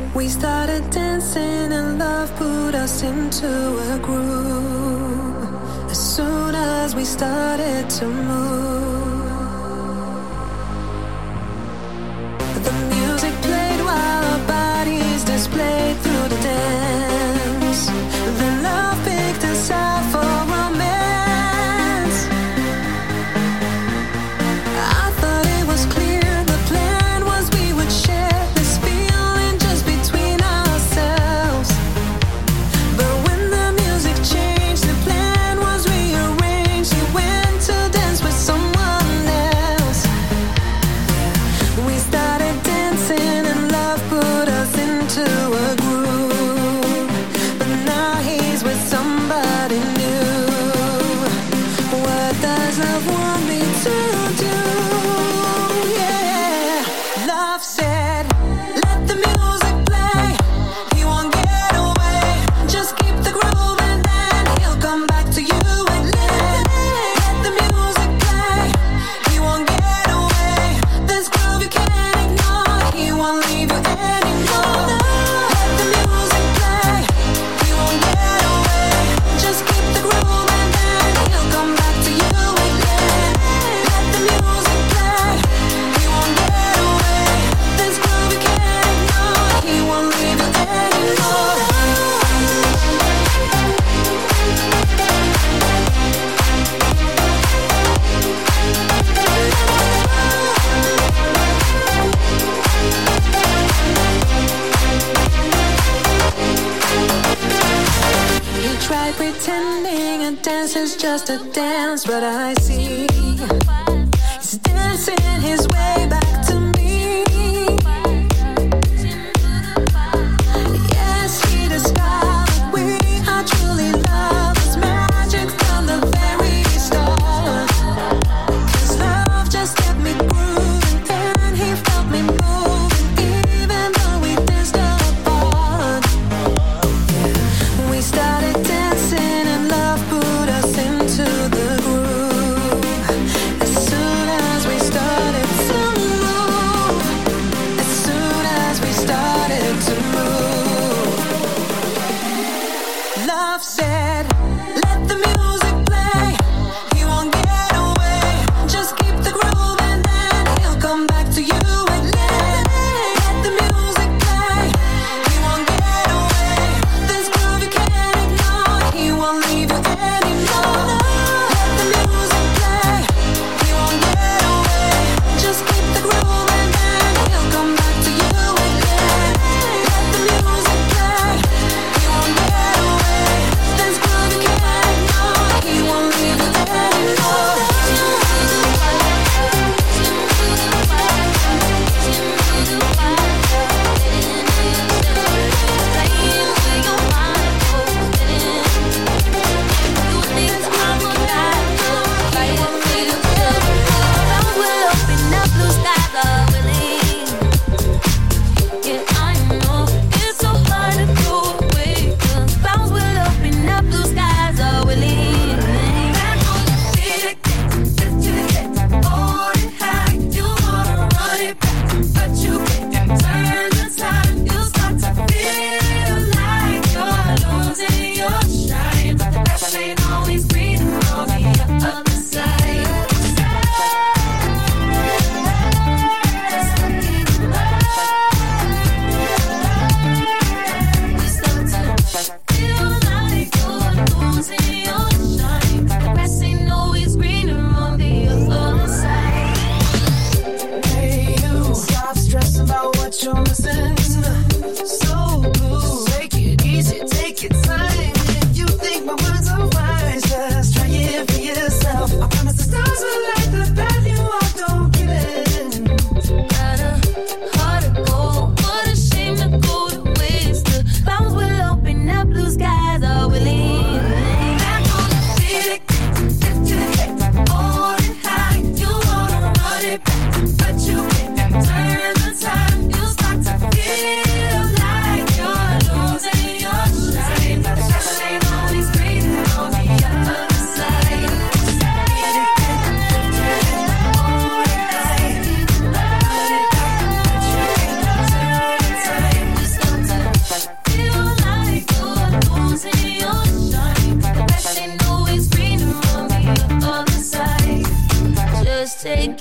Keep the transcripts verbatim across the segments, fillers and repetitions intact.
We started dancing and love put us into a groove. As soon as we started to move, the music played while our bodies displayed through the dance. Then love picked us out for romance. I thought it was clear the plan was we would share this feeling just between ourselves. But when the music changed, the plan was rearranged. He went to dance with someone else. We started dancing and love put us into a groove. But now he's with somebody new. What does love want me to do? Yeah. Love said, let the music play. He won't get away. Just keep the groove and then he'll come back to you again. Let the music play. He won't get away. This groove you can't ignore. He won't leave you anymore. Let the music play. He won't get away. Just keep the groove and then he'll come back to you again. Let the music play. He won't get away. This groove you can't ignore. He won't leave you anymore. He tried pretending a dance is just a dance, but I see he's dancing his way back to me. Yes, he discovered we are truly love. It's magic from the very start. 'Cause love just kept me grooving and he felt me moving, even though we danced apart. We started dancing and love put us into the groove. As soon as we started to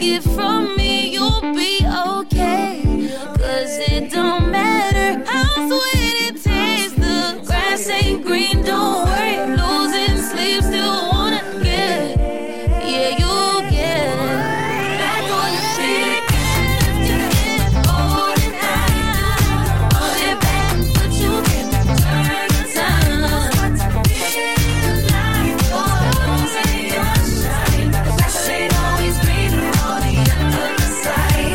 it from me, you'll be okay. Cause it don't matter how sweet it tastes, the grass ain't green, don't worry. Losing sleep, still wanna get it. Yeah, you'll get it. Back on your feet again, if you can't hold it high. Hold it back, but you can turn the time. Feel like you're losing your shine. The grass ain't always green on the other side.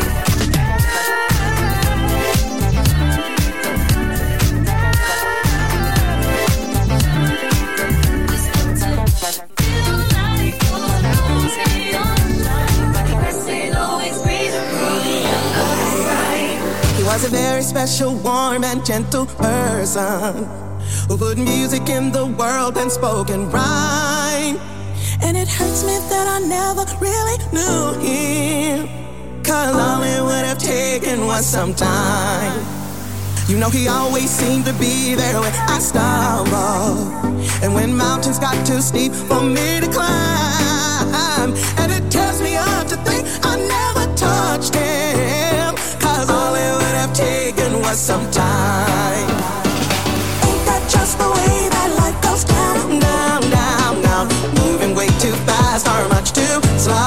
Was a very special, warm and gentle person who put music in the world and spoke in rhyme. And it hurts me that I never really knew him, cause all it would have taken was some time. You know he always seemed to be there when I stumbled, and when mountains got too steep for me to climb. And it tears me up to think I never touched him, cause all it would have taken was some time. Ain't that just the way that life goes down, down, down, down, moving way too fast or much too slow.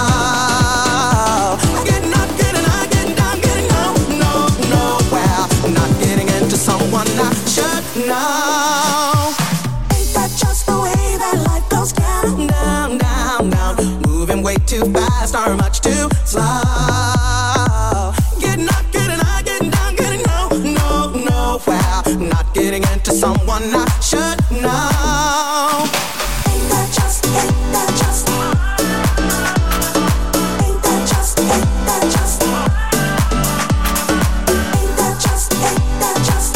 I get not getting, I get down, getting no, no, no, well, not getting into someone I should know. Ain't that just the way that life goes down, down, down, down, moving way too fast or much too slow. Not getting into someone I should know. Ain't that just, ain't that just, ain't that just, ain't that just, ain't that just, ain't that just,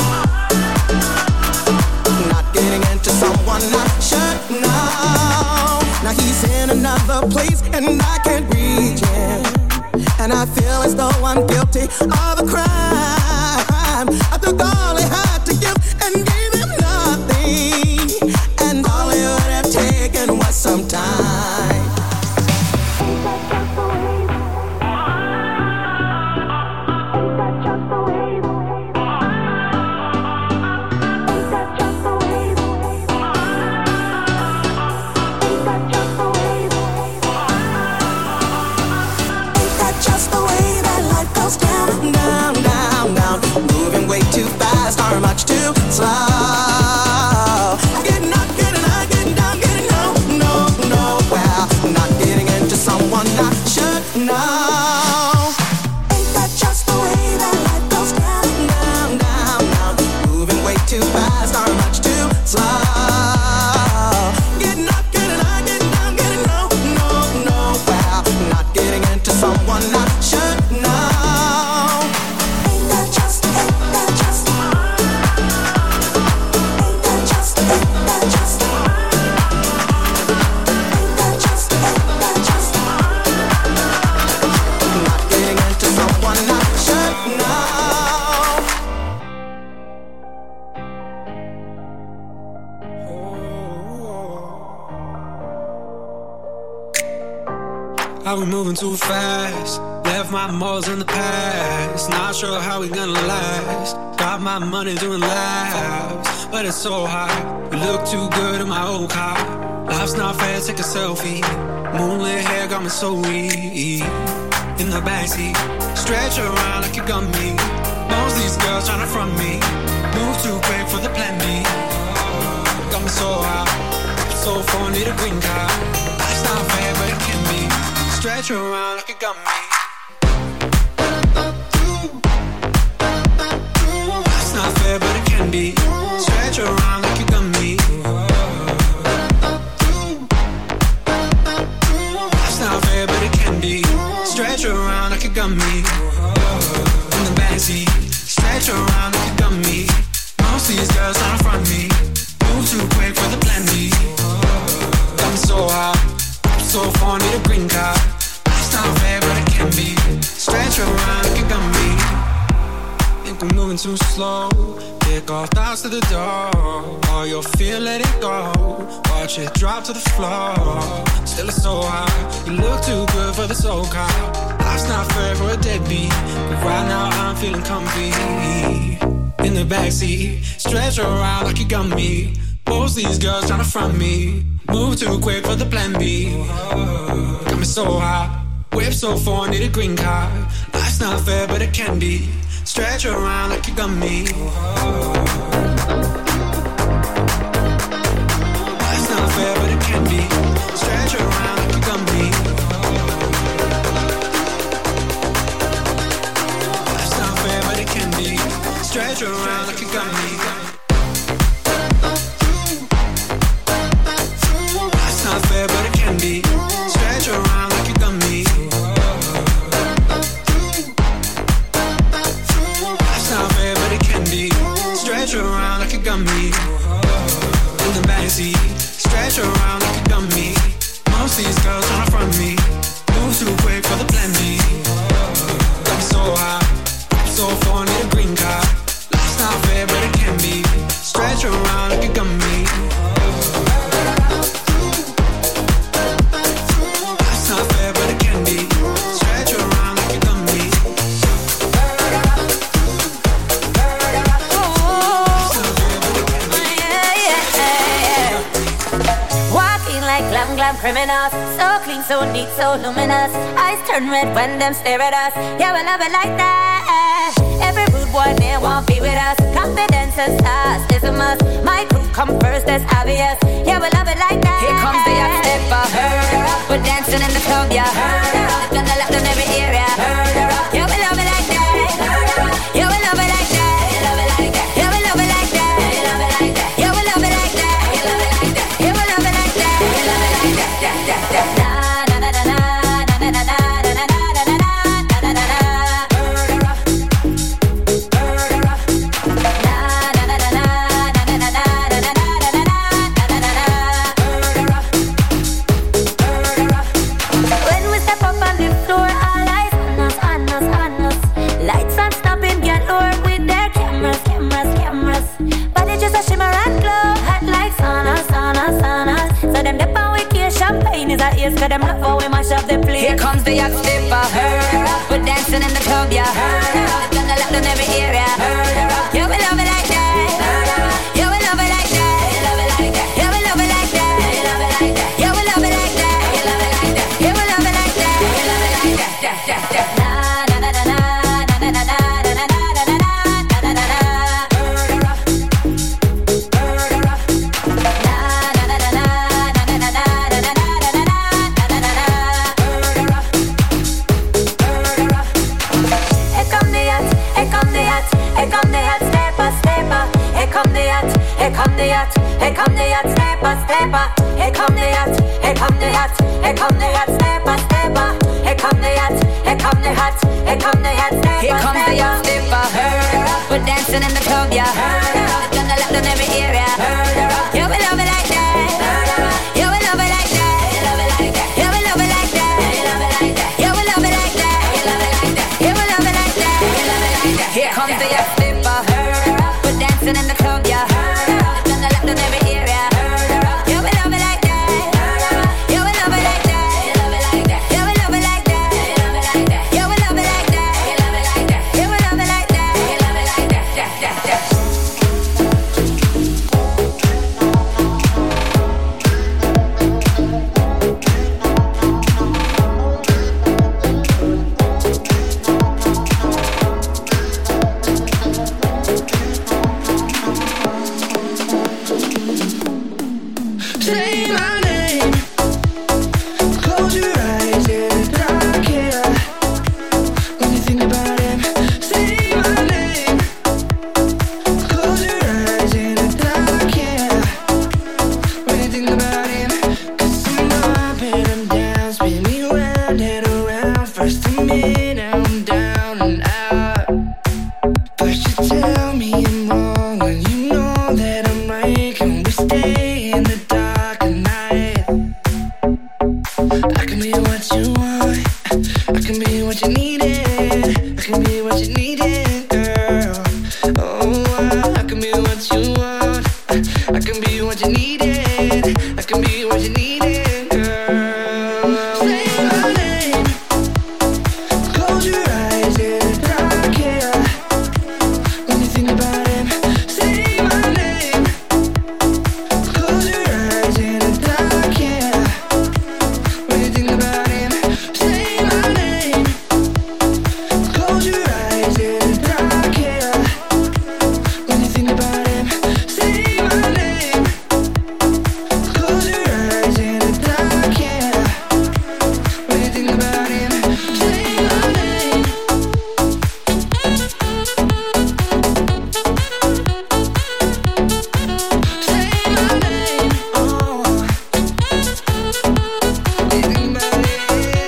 not getting into someone I should know. Now he's in another place and I can't reach him, and I feel as though I'm guilty of a crime. I took all he had to give and gave him nothing, and all it would have taken was some time. Ain't that just the way? Ain't that just the way? Ain't that just the way? Ain't that just the way? Ain't that just the way that life goes down, down, down, down, moving way too fast or much too slow. I get not getting, I get down, getting no, no, no, well, not getting into someone I should know. Ain't that just the way that life goes down, down, down, down, moving way too fast or much too slow. Get not getting, I get down, getting no, no, no, well, not getting into someone I should know. Are we moving too fast? Left my morals in the past. Not sure how we gonna last. Got my money doing laps, but it's so hot. We look too good in my old car. Life's not fair, take a selfie. Moonlit hair got me so weak. In the backseat, stretch around like you got me. Most of these girls tryna front me. Move too quick for the plan B. Got me so hot, so far need a green card. Life's not fair, but it can be. Stretch around like you got me. It's not fair, but it can be. Stretch around like you got me. It's not fair, but it can be. Stretch around like you got me. In the backseat, stretch around like you got me. Most of these girls tryna front me. Move too quick for the plan B. Got me so hot, so far need a green card. It's not fair, but it can be. Stretch around like you got me. Think we're moving too slow. Kick all thoughts to the door. All your fear, let it go. Watch it drop to the floor. Still it's so high. You look too good for the so-called. Life's not fair for a deadbeat, but right now I'm feeling comfy. In the backseat, stretch around like you got me. Most these girls tryna front me. Move too quick for the plan B. Got me so high. Whip so far, need a green card. Life's not fair, but it can be. Stretch around like you got me. Life's not fair, but it can be. Stretch around like you got me. Life's not fair, but it can be. Stretch around like you got me. Life's not fair, but it can be. Stretch around like you got me. Stretch around like you got me. In the backseat, stretch around like you got me. Most these girls tryna front me. Move too quick for the plan B. Got me so high, so far, need a green card. Life's not fair, but it can be. Stretch around like you got me. Life's not fair, but it can be. Stretch around like you got me. Glam, glam criminals, so clean, so neat, so luminous. Eyes turn red when them stare at us. Yeah, we love it like that. Every rude boy there won't be with us. Confidence and stars is a must. My crew come first, that's obvious. Yeah, we love it like that. Here comes the young stepper. We're dancing in the club, yeah. Gonna left in every area. Yeah, we love it like that. Yeah, we love it like that. Yeah, we love it like that. Yeah, we love it like that. Yeah, we love it like that. When we step up on the floor, all eyes on us, on us, on us. Lights on stopping, get lower with their cameras, cameras, cameras. But it's just a shimmer and glow, hot lights on us, on us, on us. So them dip on wicked champagne is our ears, cause them love how we mash up the place. Here comes the yacht stepper. We're dancing in the club, yeah. Gonna left in every area. Yeah, we love it like that. Yeah, we love it like that. Yeah, we love it like that. Yeah, we love it like that. Yeah, we love it like that. Na na na na na na na na na na na na na. Here come the yacht, here come the yacht, stepper, stepper. Here come the yacht, here come the yacht, here come the yacht, stepper, stepper. Here come the yacht, here come the yacht, here come the yacht, stepper, here comes the yacht, stepper. We're dancing in the club, yeah. Gonna left in every area. Yeah, we love it like that. Yeah, we love it like that. Yeah, we love it like that. Yeah, we love it like that. Yeah, we love it like that. Here comes the yacht, stepper. We're dancing in the club, yeah. In every area. Yeah, we love it like that. Yeah, we love it like that. Yeah, we love it like that. Yeah, we love it like that. Yeah, we love it like that. be what you want. I can be what you needed. I can be what you needed, girl. Say my name. Close your eyes in the dark, yeah. When you think about him, say my name. Close your eyes in the dark, yeah. When you think about him, say my name. Close your eyes in the dark, yeah. When you think about him, say my name. Close your eyes in the dark, yeah. When you think about him, say my name. Say my name. Oh. When you think about it.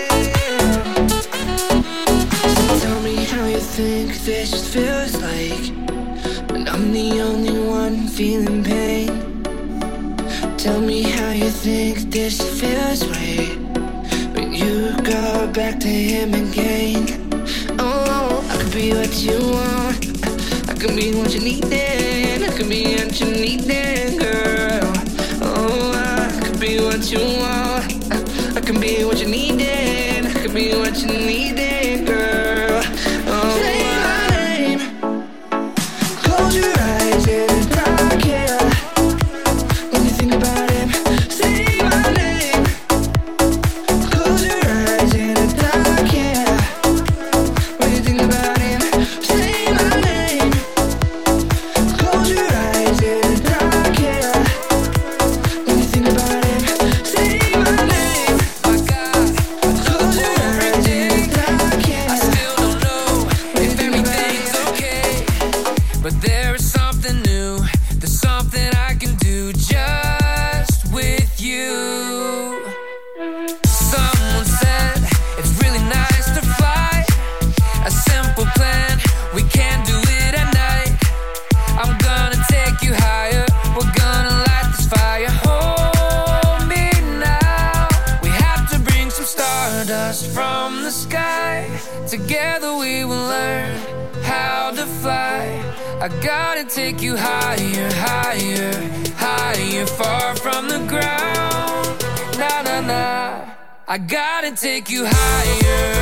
Tell me how you think this feels like when I'm the only one feeling pain. Tell me how you think this feels right when you go back to him again. Oh, I could be what you want. I could be what you needed. I could be what you needed, girl. Oh, I could be what you want. I can be what you needed. I could be what you needed, girl. Oh, say my name. Close your eyes in the dark, yeah. When you think about him, say my name. Close your eyes in the dark, yeah. When you think about him, say my name. Close your eyes in the dark, yeah. When you think about him, say my name. My God, close your eyes in the dark, yeah. I still don't know if everything's okay, but there is something new. There's something I can do just with you. Someone said it's really nice to fly. A simple plan, we can do it at night. I'm gonna take you higher. We're gonna light this fire. Hold me now. We have to bring some stardust from the sky. Together we will learn how to fly. I gotta take you higher, higher, higher, far from the ground. Na na na. I gotta take you higher.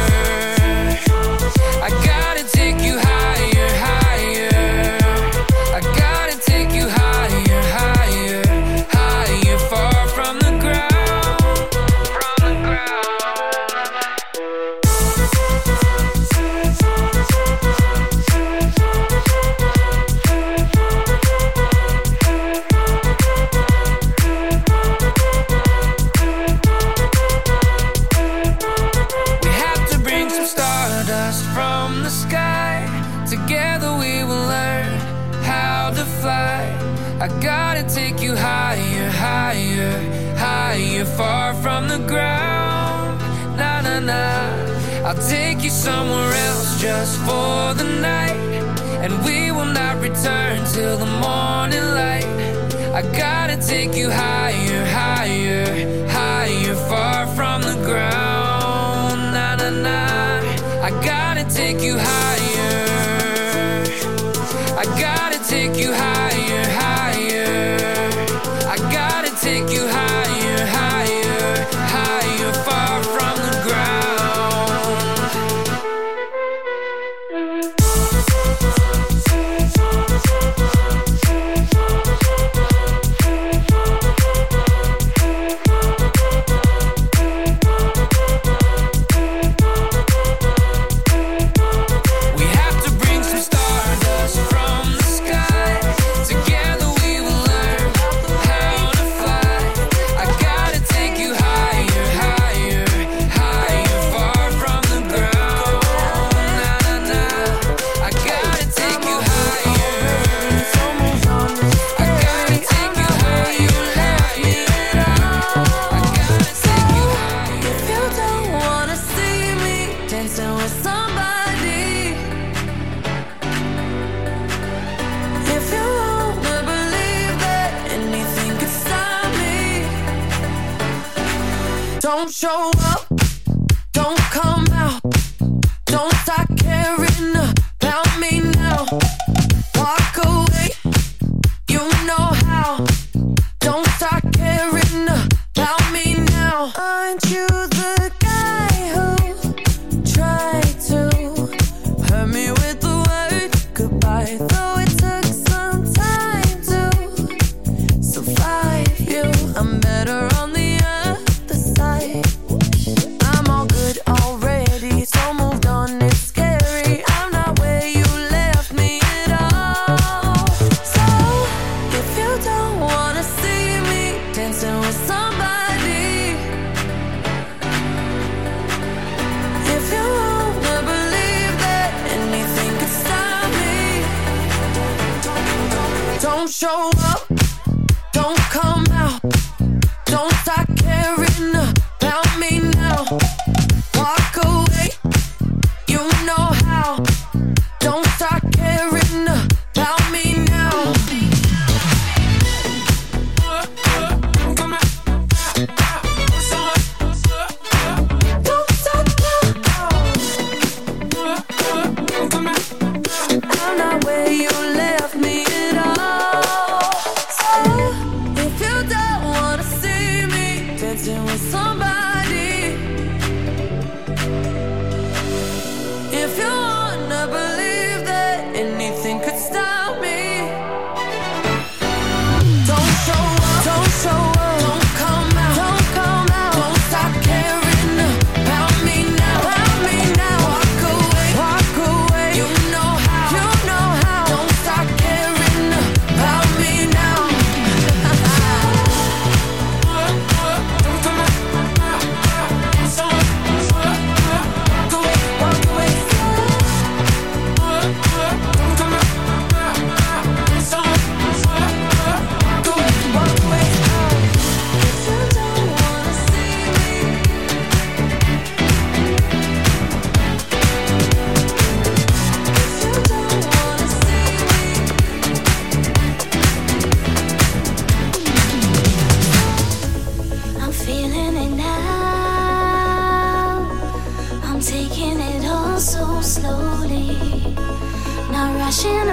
I gotta take you higher, higher. I gotta take you higher, higher, higher, far from the ground. From the ground. We have to bring some stardust from the sky. Together we will learn how to fly. I gotta take you higher, higher, higher, far from the ground. Na na na. I'll take you somewhere else just for the night, and we will not return till the morning light. I gotta take you higher, higher, higher, far from the ground. Na na na. I gotta take you higher. I gotta take you higher, higher. I gotta take you higher, higher, higher, far from the ground. We have to bring some stardust from the sky. Together we will learn how to fly. I gotta take you higher, higher, higher, far from the ground. Na na na. I gotta take you higher. I gotta take you higher, higher. I gotta take you higher. If you don't wanna see me dancing with somebody, if you wanna believe that anything could stop me, don't show up, don't come out, don't start caring about me now. Walk away, Don't show up, don't come out, don't start caring about me now. Walk away, you know how. Don't start caring about me now. Don't stop now. I'm not where you left me at all. So if you don't wanna see me dancing with somebody, if you wanna believe that anything could stop me, don't show up, don't show up, don't come out, don't come out, don't stop caring about me now, about me now. Walk away, walk away, you know how, you know how. Don't stop caring about me now. Walk away, walk away. If you don't wanna see me, if you don't wanna see me, I'm feeling it now. I'm taking it all so slowly. Not rushing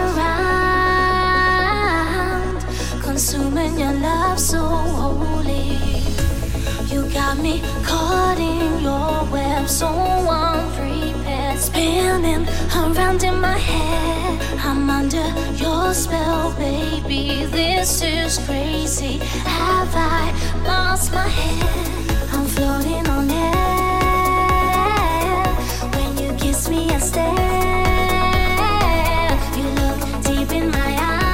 around, consuming your love so wholly. You got me caught in your web, so unprepared. Spinning around in my head. I'm under your spell, baby. This is crazy. Have I lost my head? I'm floating on air. When you kiss me, I stare. You look deep in my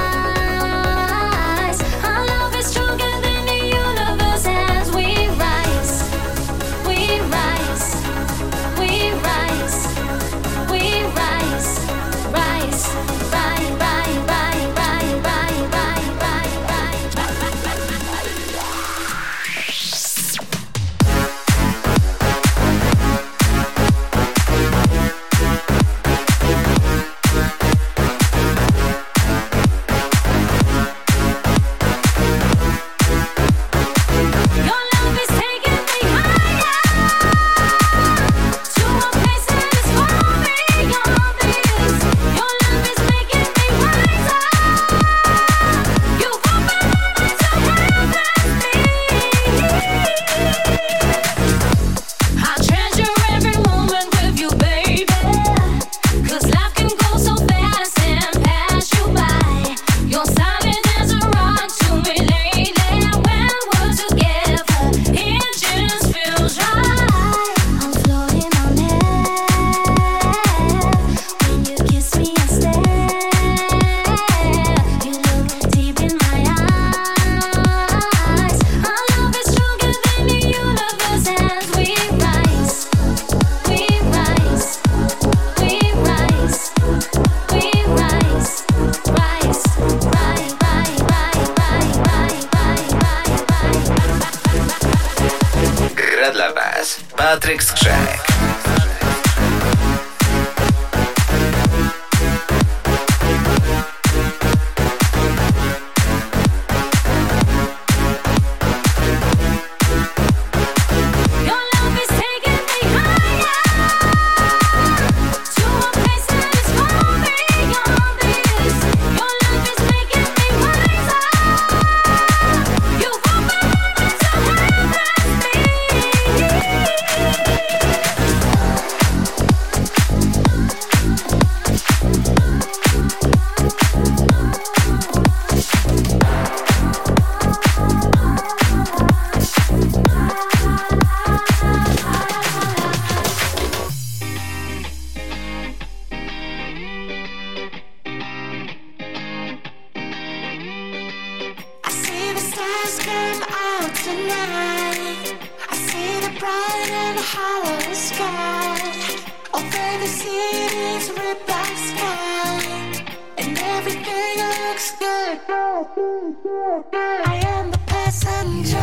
eyes. Our love is stronger than the universe as we rise. We rise. We rise. We rise. Rise. Rise. Rise. Rise. Rise. Rise. Rise. Rise. Your love is taking me higher to a place that is far beyond this. Your love is making me wiser. You open my eyes to heaven. I treasure every moment with you, baby. 'Cause life can go so fast and pass you by. You're solid as a rock to me lately. When we're together, it just feels right. I'm floating on air. When you kiss me, I stare. You look deep in my eyes. Our love is stronger than the universe as we rise. We rise. We rise. We rise. Rise. Rise. Rise. Rise. Rise. Rise. Rise. Gra dla was Patryk Skrzek. Your love is taking me higher to a place that is far beyond this. Your love is making me wiser. You open my eyes to heaven. I see the stars come out tonight. I see the bright and hollow sky. Over the city's red black sky. And every everything looks good. I am the passenger.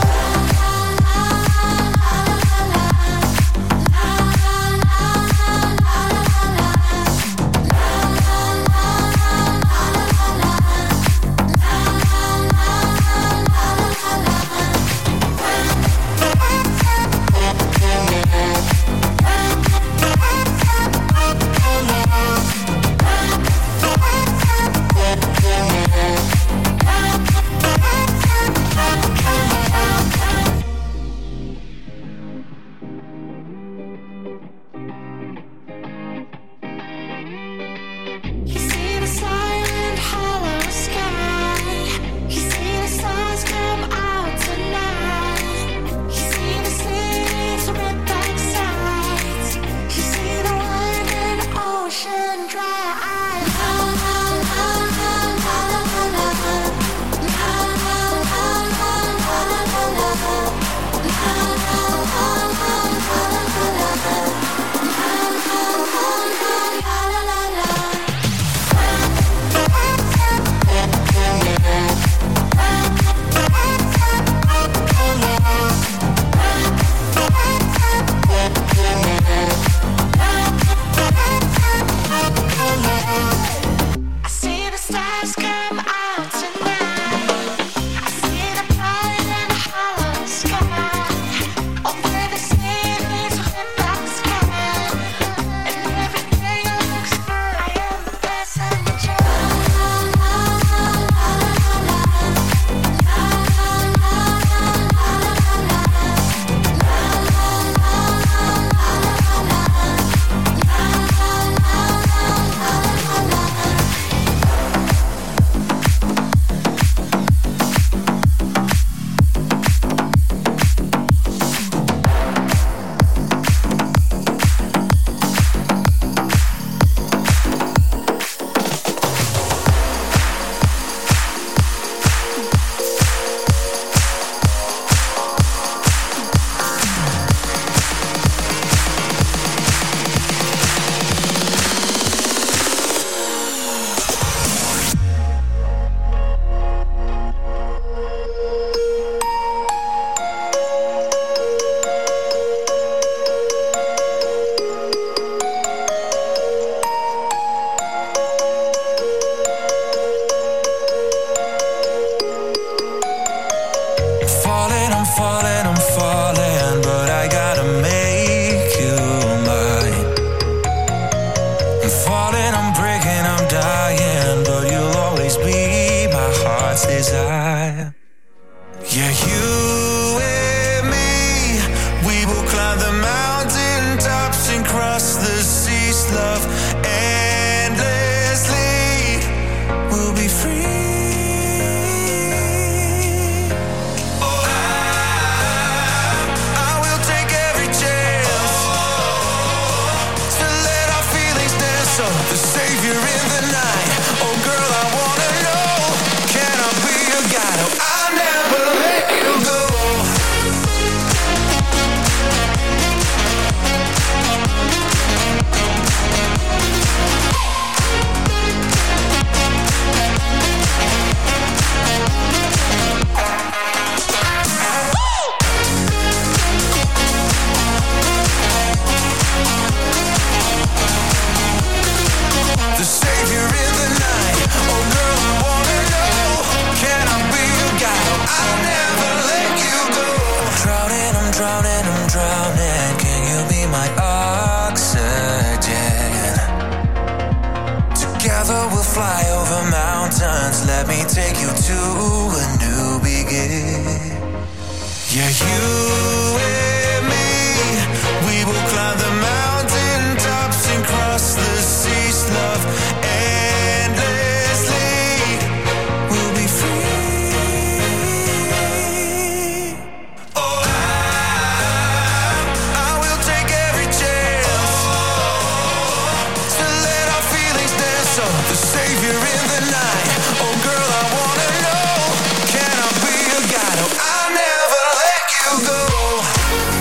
Go.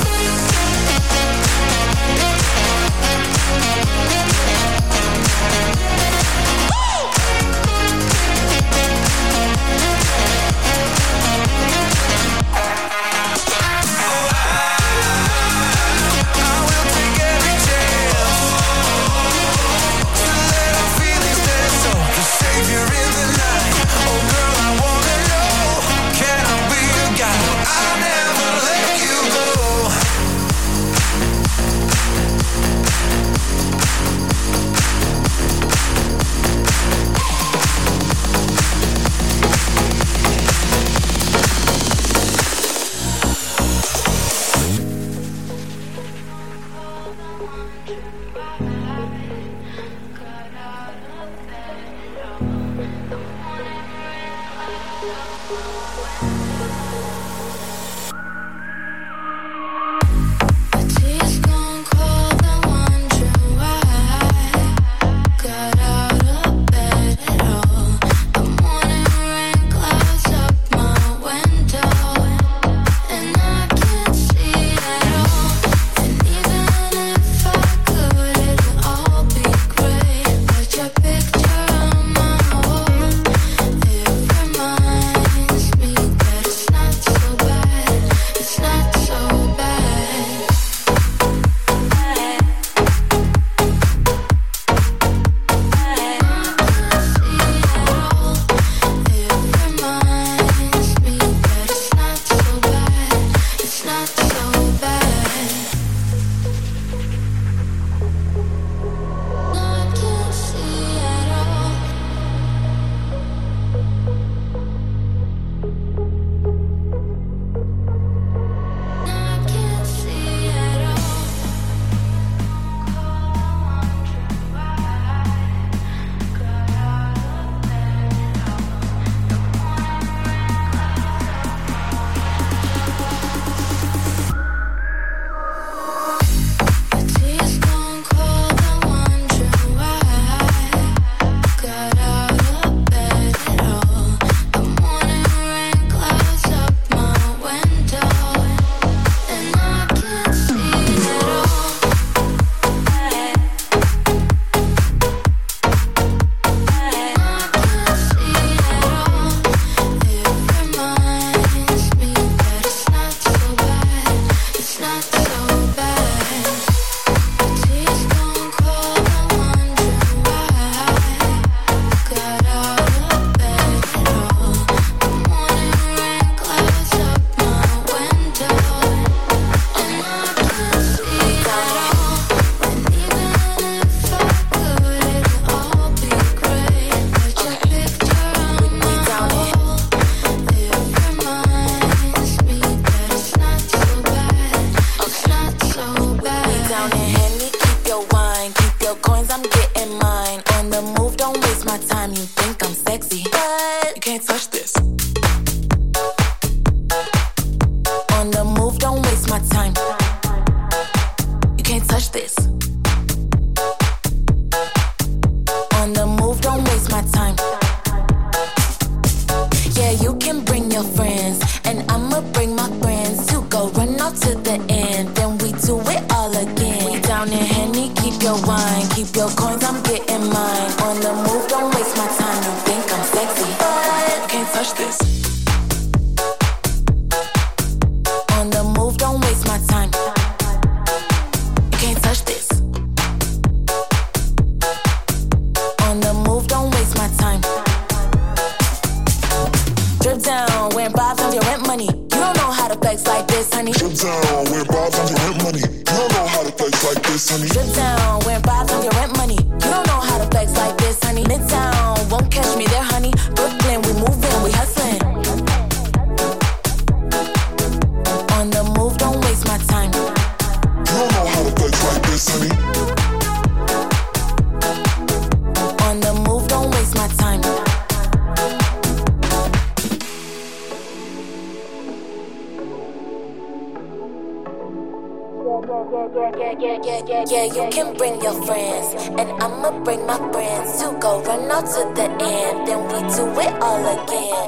Yeah, you can bring your friends, and I'ma bring my friends to go run out to the end, then we do it all again.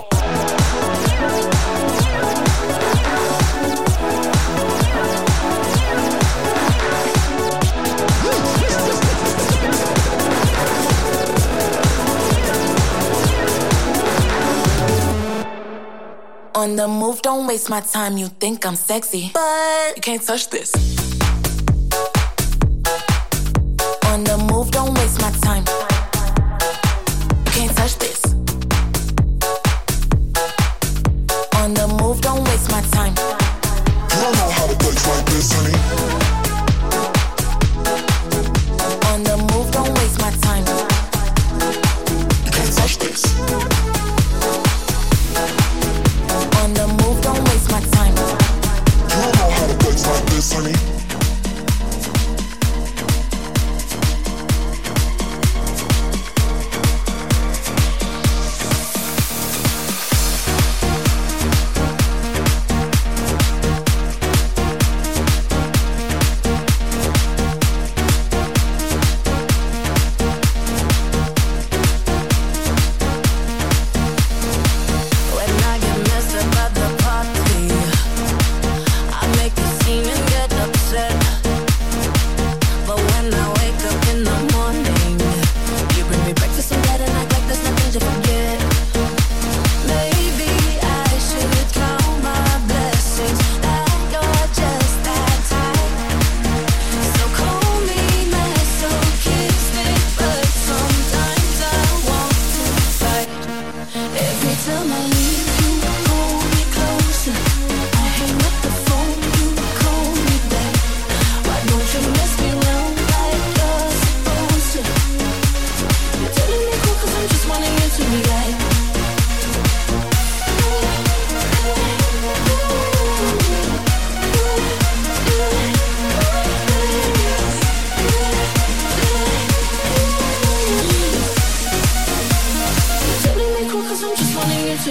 On the move, don't waste my time. You think I'm sexy, but you can't touch this. On the move, don't waste my time. You can't touch this. On the move, don't waste my time. You don't know how to dance like this, honey. On the move, don't waste my time. You can't touch this. On the move, don't waste my time. You don't know how to dance like this, honey.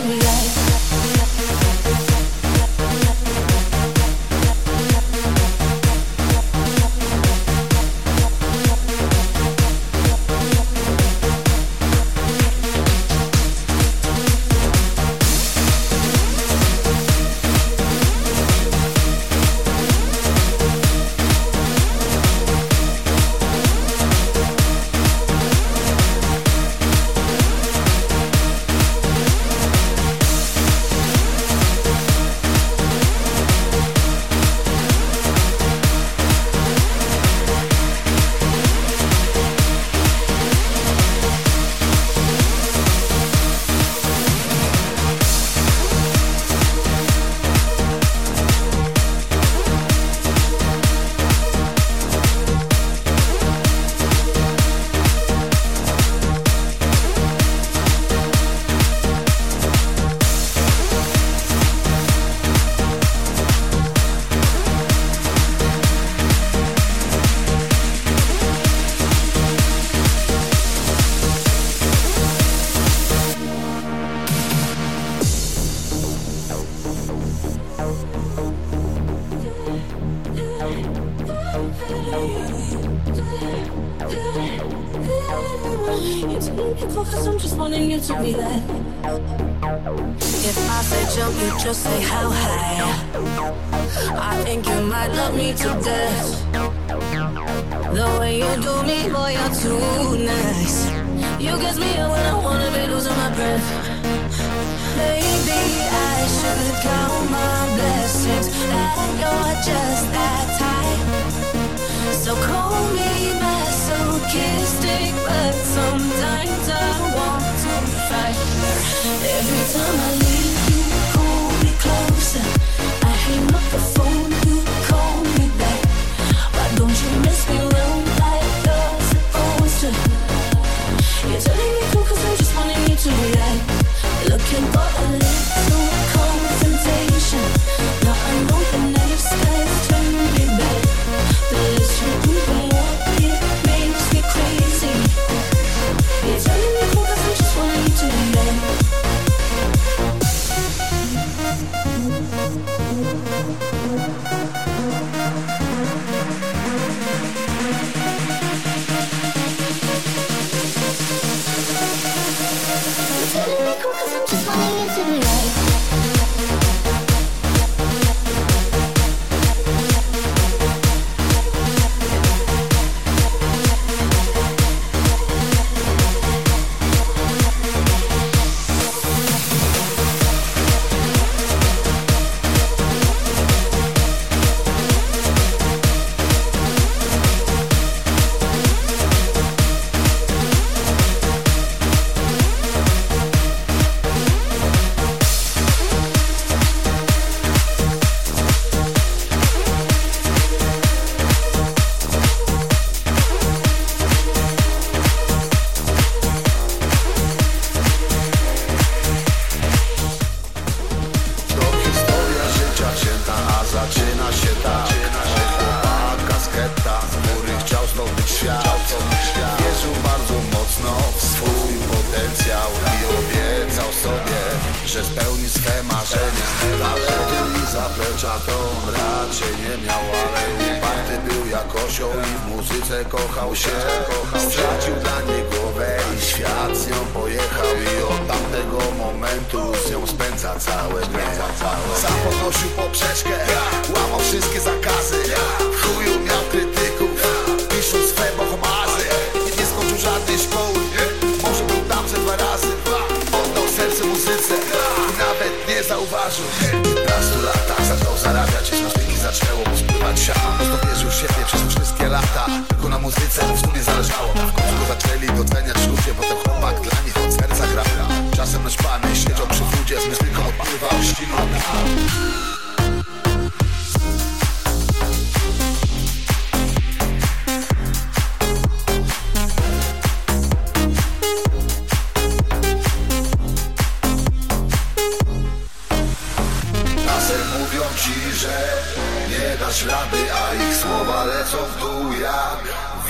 react. Cause I'm just wanting you to be there. If I say jump, you just say how high. I think you might love me to death. The way you do me, boy, you're too nice. You get me up when I wanna be losing my breath. Maybe I should count my blessings that you're just that tight. So call me masochistic, but sometimes I want to fight. Every time I leave, you pull me closer. I hang up the phone, you call me back. Why don't you mess me around like you're supposed to? You're telling me cool cause I'm just wanting you to react. Looking for a little confrontation. Now I know the next guy's turning me back. The less you do, the more it makes me crazy. You're telling me cool cause I'm just wanting you to react.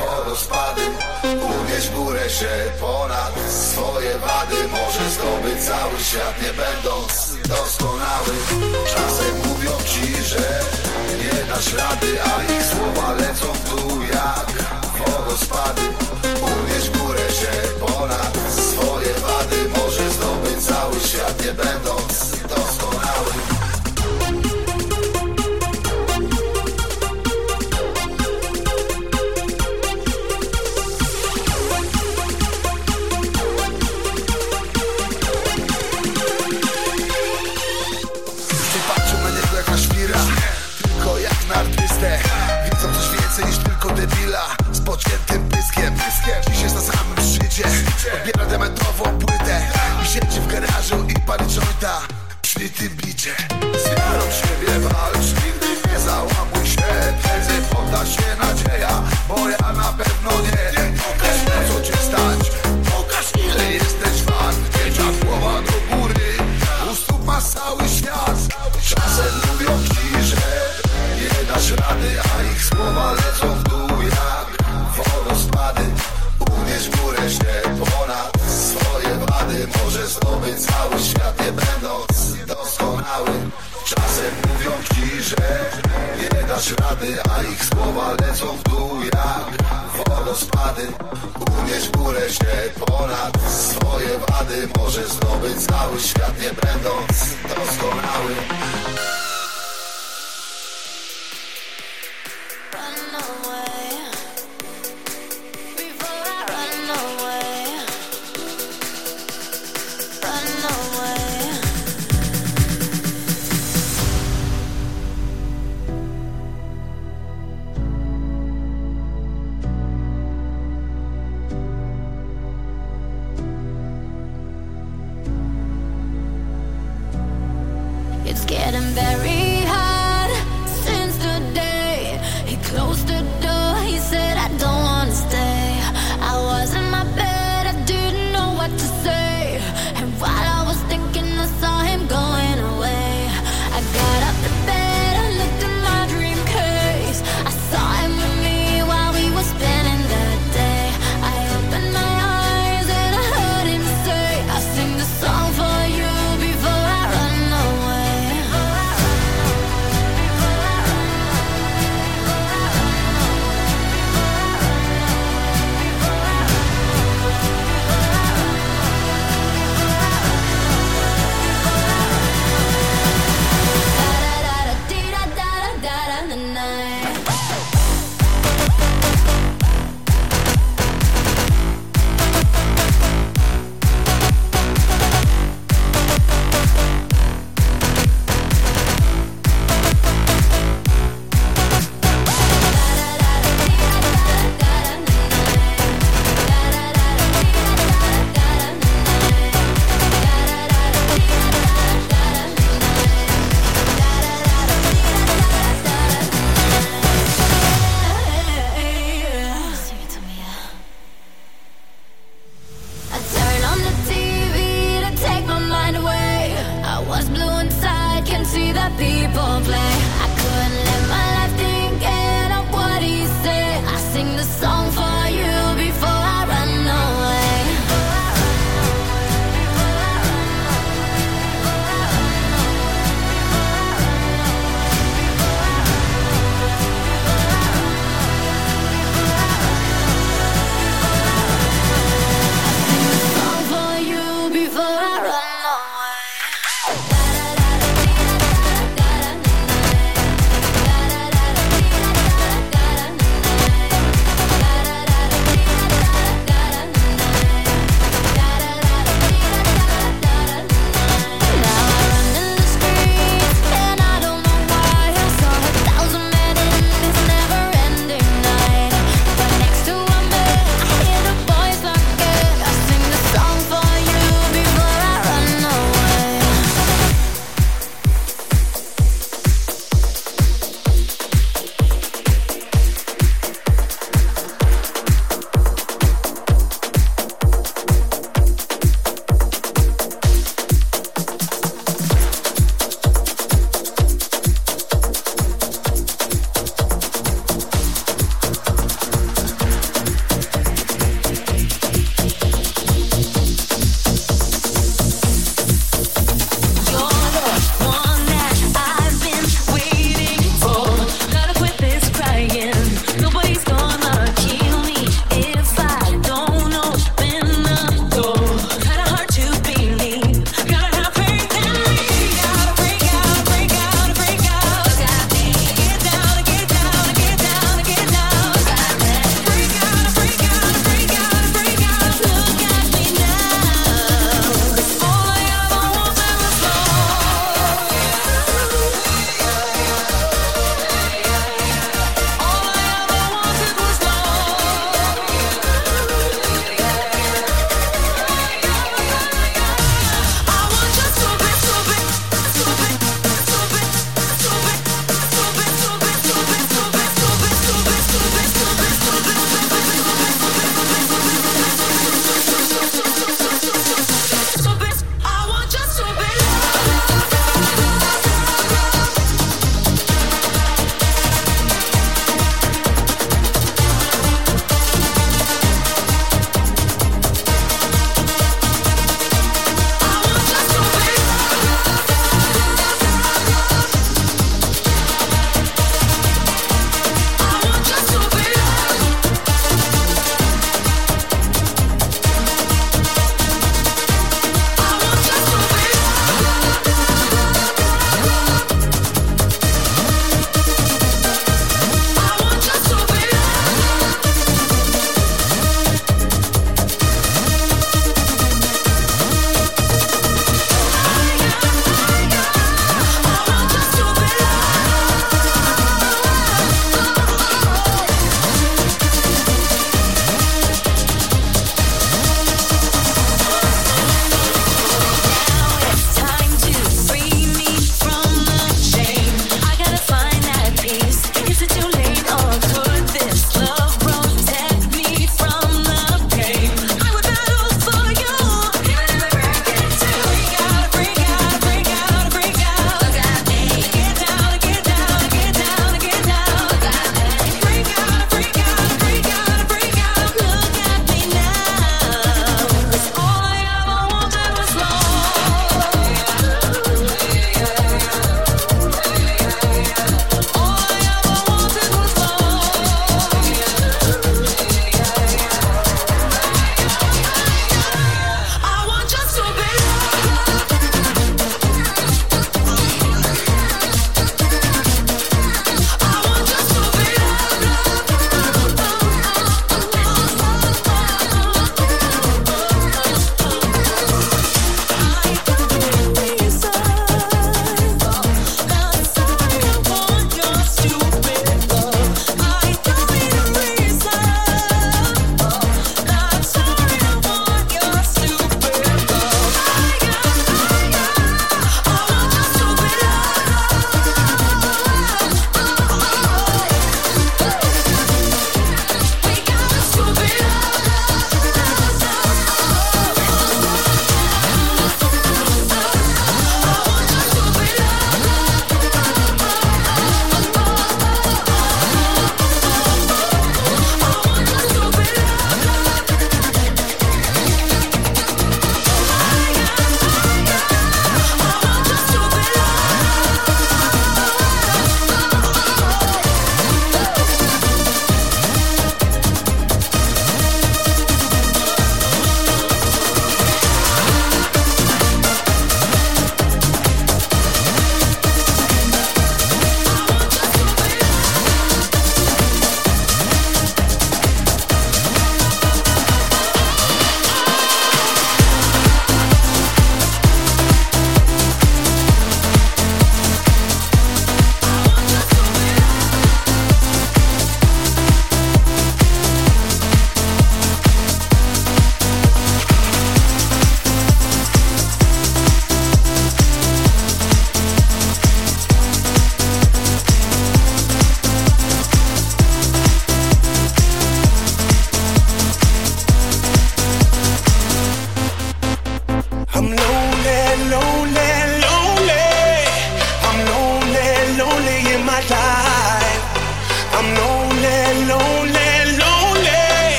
wodospady. Unieść w górę się ponad swoje wady. Może zdobyć cały świat, nie będąc doskonały. Czasem mówią ci, że nie dasz rady, a ich słowa lecą w dół jak wodospady. Unieść w górę się ponad swoje wady. Może zdobyć cały świat, nie będąc doskonały. Tylko jak na artystę. Widzą coś więcej niż tylko debila z pociętym pyskiem. Dziś jest na samym szczycie. Odbiera dementową płytę i siedzi w garażu i pali jointa przy tym bicie. Z wiarą w siebie walcz, nigdy nie załamuj się. Prędzej podda się nadzieja, bo ja na pewno nie. Pokaż na co cię stać, pokaż ile jesteś wart. Pięcia głowa do góry, u stóp masz cały świat. Czasem mówią ci, że nie dasz rady, a ich słowa lecą w dół jak wodospady. Unieść w górę się ponad swoje wady. Może zdobyć cały świat, nie będąc doskonały. Czasem mówią ci, że nie dasz rady, a ich słowa lecą w dół jak wodospady. Unieść w górę się ponad swoje wady. Może zdobyć cały świat, nie będąc doskonały. It's getting very hard since the day he closed the door. He said, I don't wanna stay. I was in my bed, I didn't know what to say. And while I was thinking, I saw him going away. I got up to bed, I looked in my dream case. I saw him with me while we were spending that day. I opened my eyes and I heard him say, I sing the song for you before I run away. Before I run away.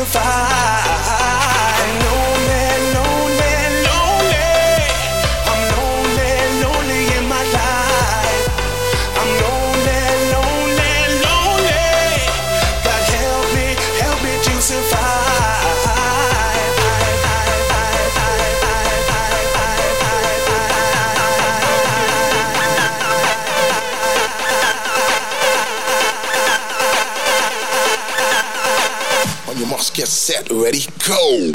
survive. I'm lonely, lonely, lonely. I'm lonely, lonely in my life. I'm lonely, lonely, lonely. God help me, help me to survive. On your marks, get set, ready, go.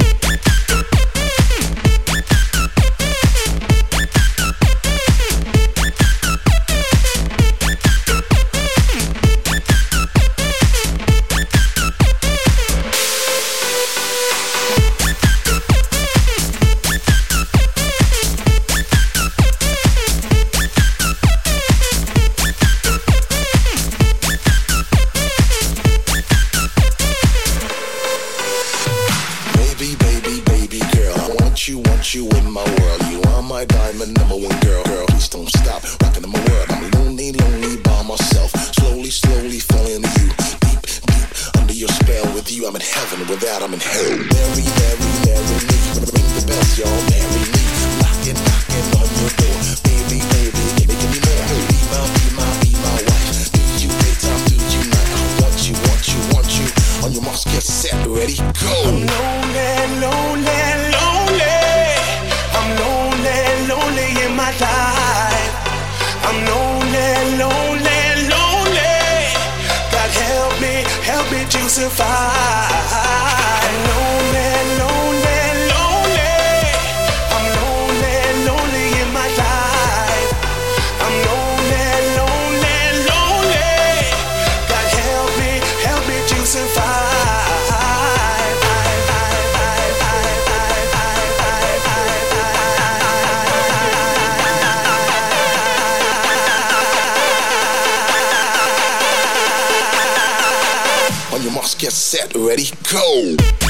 You want you in my world. You are my diamond number one girl. Girl, please don't stop rocking in my world. I'm lonely, lonely by myself. Slowly, slowly falling into you. Deep, deep under your spell. With you, I'm in heaven. Without, I'm in hell. Marry, marry, marry me. Ring the bells, y'all. Marry me. Knocking, knocking on your door. Baby, baby, give me, give me more. Be my, be my, be my wife. Do you daytime, do you night? I want you, want you, want you. On your marks, get set, ready, go. I'm lonely, lonely, lonely. I'm lonely, lonely in my life. I'm lonely, lonely, lonely. God help me, help me to survive. I'm lonely, lonely, lonely. I'm lonely, lonely in my life. I'm lonely, lonely, lonely. God help me, help me to survive. On your marks, get set, ready, go.